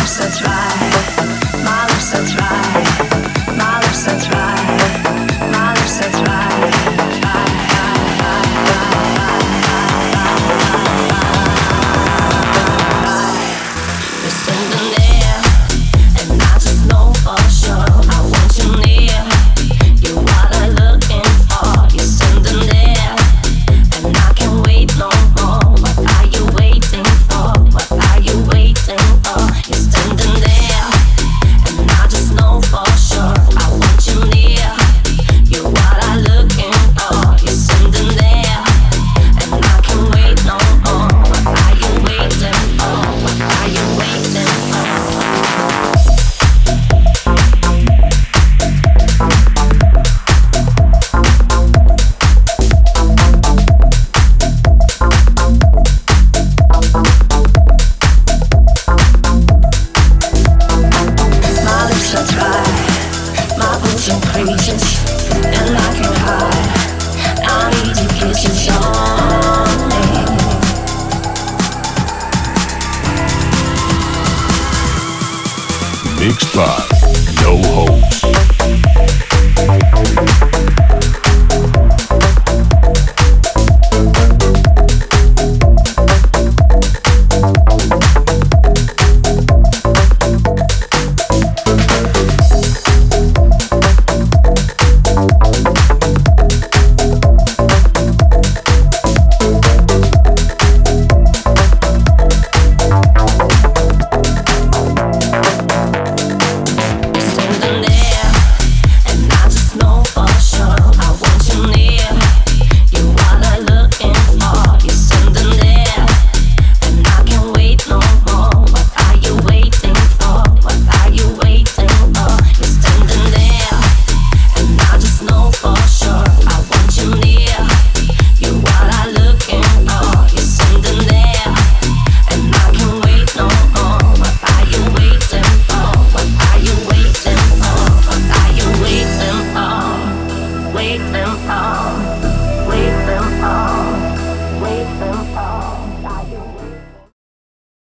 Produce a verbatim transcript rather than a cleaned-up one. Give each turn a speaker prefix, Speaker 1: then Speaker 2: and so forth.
Speaker 1: lips are dry, my lips are dry, my lips are dry, my lips are dry. You're standing there, and I just know for sure I want you near. You're what I'm looking for. You're standing there, and I can't wait no more. What are you waiting for? What are you waiting for? You're standing there, and I just know for sure I want you near. You're what I'm looking for. You're standing there, and I can't wait no more. What are you waiting for? What are you waiting for? My lips are dry, my boots are creases, and I can't hide. I need your kisses only.
Speaker 2: Mixed by No Hopes.
Speaker 1: Standing there, and I just know for sure I want you near. You're what I'm looking for. You're standing there, and I can't wait no more. What are you waiting for? What are you waiting for? You're standing there, and I just know for sure I want you near. You're what I'm looking for. You're standing there, and I can't wait no more. What are you waiting for? What are you waiting for? What are you waiting for? Waiting for, waiting for, waiting for.